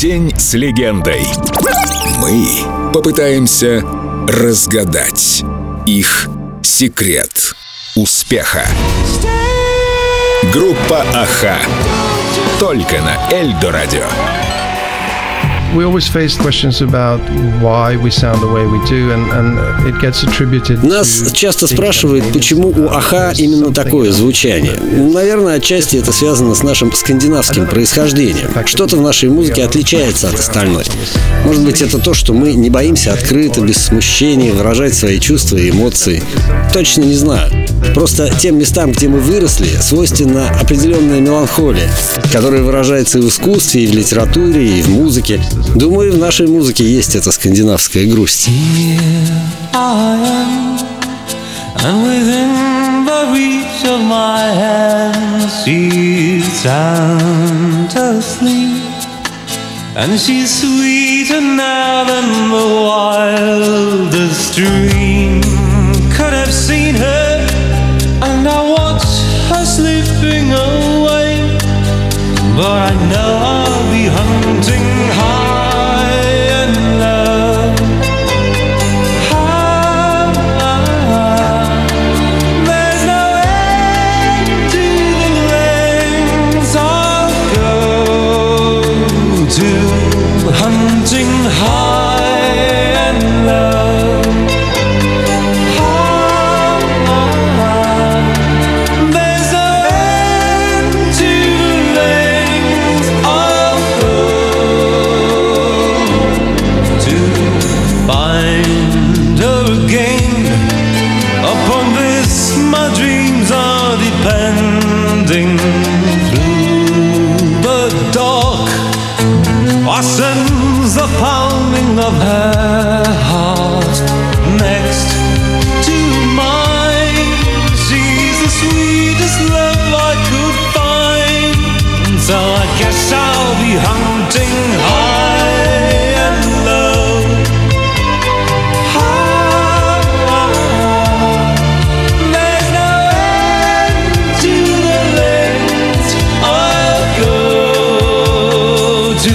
День с легендой. Мы попытаемся разгадать их секрет успеха. Группа «Аха» только на Эльдо Радио. Нас часто спрашивают, почему у Аха именно такое звучание. Наверное, отчасти это связано с нашим скандинавским происхождением. Что-то в нашей музыке отличается от остальной. Может быть, это то, что мы не боимся открыто, без смущения выражать свои чувства и эмоции. Точно не знаю. Просто тем местам, где мы выросли, свойственна определенная меланхолия, которая выражается и в искусстве, и в литературе, и в музыке. Думаю, в нашей музыке есть эта скандинавская грусть. And she's sweeter now than the wildest dream could have seen her. And I watch her slipping away, but I know I'll be hunting high and low. There's no end to the lengths I'll go to, hunting high and low. There's no end to the lengths I'll go to find her again. Upon this my dreams are depending. Through the dark I sense the pounding of her heart next to mine. She's the sweetest love I could find, so I guess I'll be hunting high and low. There's no end to the lengths I'll go to.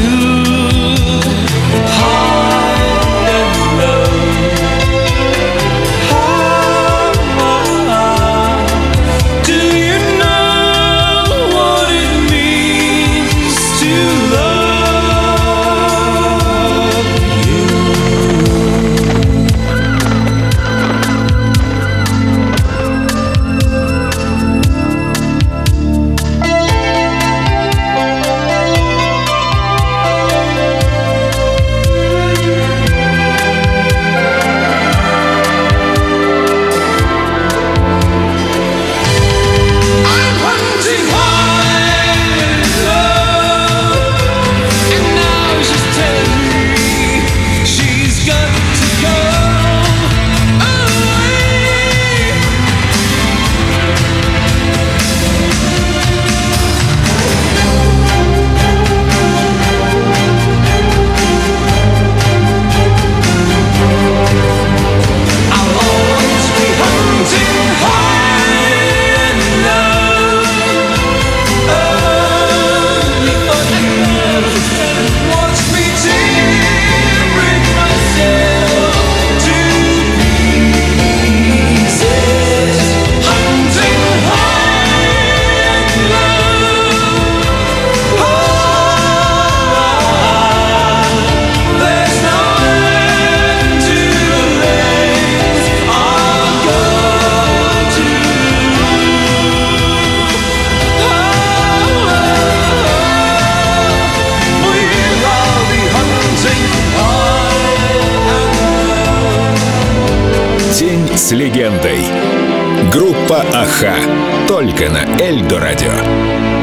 День с легендой. Группа «Аха» только на Эльдо Радио.